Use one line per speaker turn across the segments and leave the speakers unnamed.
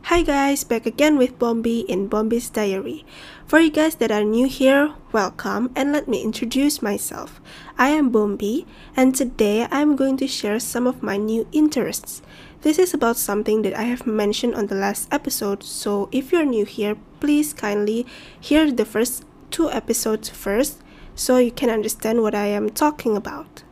Hi guys, back again with Bombi in Bombi's Diary. For you guys that are new here, welcome and let me introduce myself. I am Bombi and today I'm going to share some of my new interests. This is about something that I have mentioned on the last episode, so if you're new here, please kindly hear the first 2 episodes first so you can understand what I am talking about.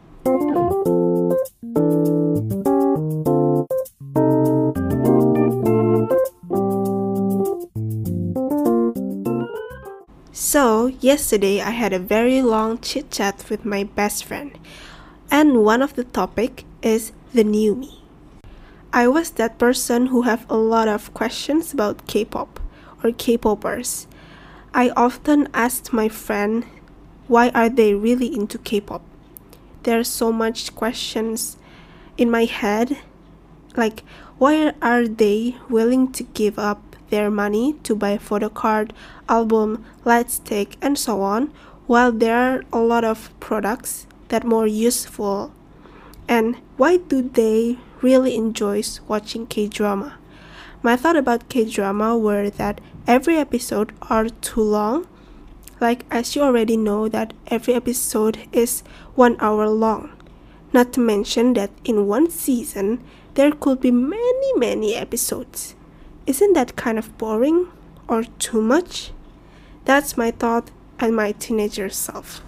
So, yesterday I had a very long chit chat with my best friend, and one of the topic is the new me. I was that person who have a lot of questions about K-pop or K-popers. I often asked my friend, why are they really into K-pop? There's so much questions in my head, like why are they willing to give up their money to buy a photo card, album, light stick, and so on, while there are a lot of products that are more useful. And why do they really enjoy watching K-drama? My thought about K-drama were that every episode are too long. Like, as you already know that every episode is 1 hour long. Not to mention that in one season, there could be many episodes. Isn't that kind of boring or too much? That's my thought and my teenager self.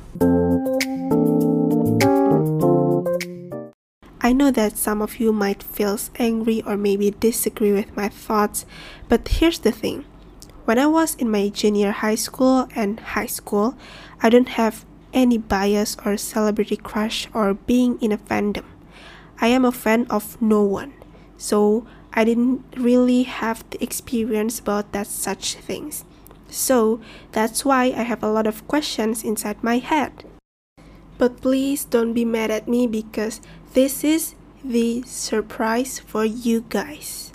I know that some of you might feel angry or maybe disagree with my thoughts, but here's the thing. When I was in my junior high school and high school, I don't have any bias or celebrity crush or being in a fandom. I am a fan of no one, so I didn't really have the experience about that such things. So that's why I have a lot of questions inside my head. But please don't be mad at me because this is the surprise for you guys.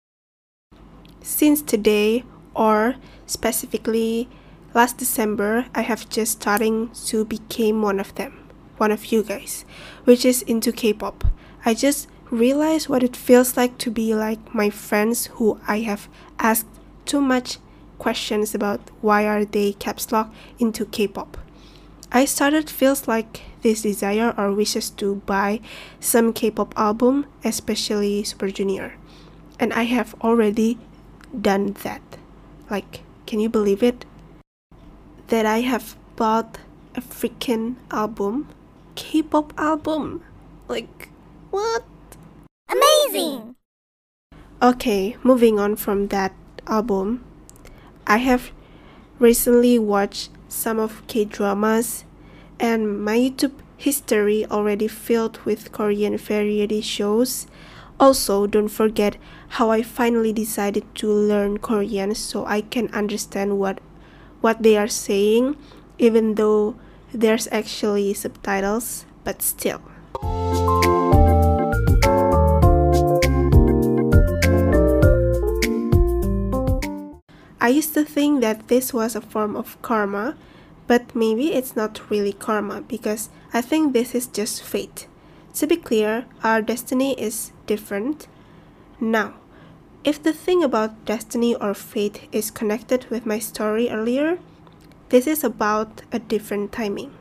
Since today, or specifically last December, I have just starting to become one of them, one of you guys, which is into K-pop. I just realized what it feels like to be like my friends who I have asked too much questions about why are they caps lock into K-pop. I started feels like this desire or wishes to buy some K-pop album, especially Super Junior. And I have already done that. Like, can you believe it? That I have bought a freaking album, K-pop album. Like, what?
Amazing!
Okay, moving on from that album, I have recently watched some of K-dramas and my YouTube history already filled with Korean variety shows. Also, don't forget how I finally decided to learn Korean so I can understand what they are saying, even though there's actually subtitles, but still. I used to think that this was a form of karma, but maybe it's not really karma because I think this is just fate. To be clear, our destiny is different. Now, if the thing about destiny or fate is connected with my story earlier, this is about a different timing.